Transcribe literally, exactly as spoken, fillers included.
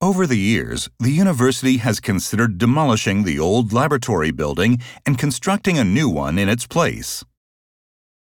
Over the years, the university has considered demolishing the old laboratory building and constructing a new one in its place.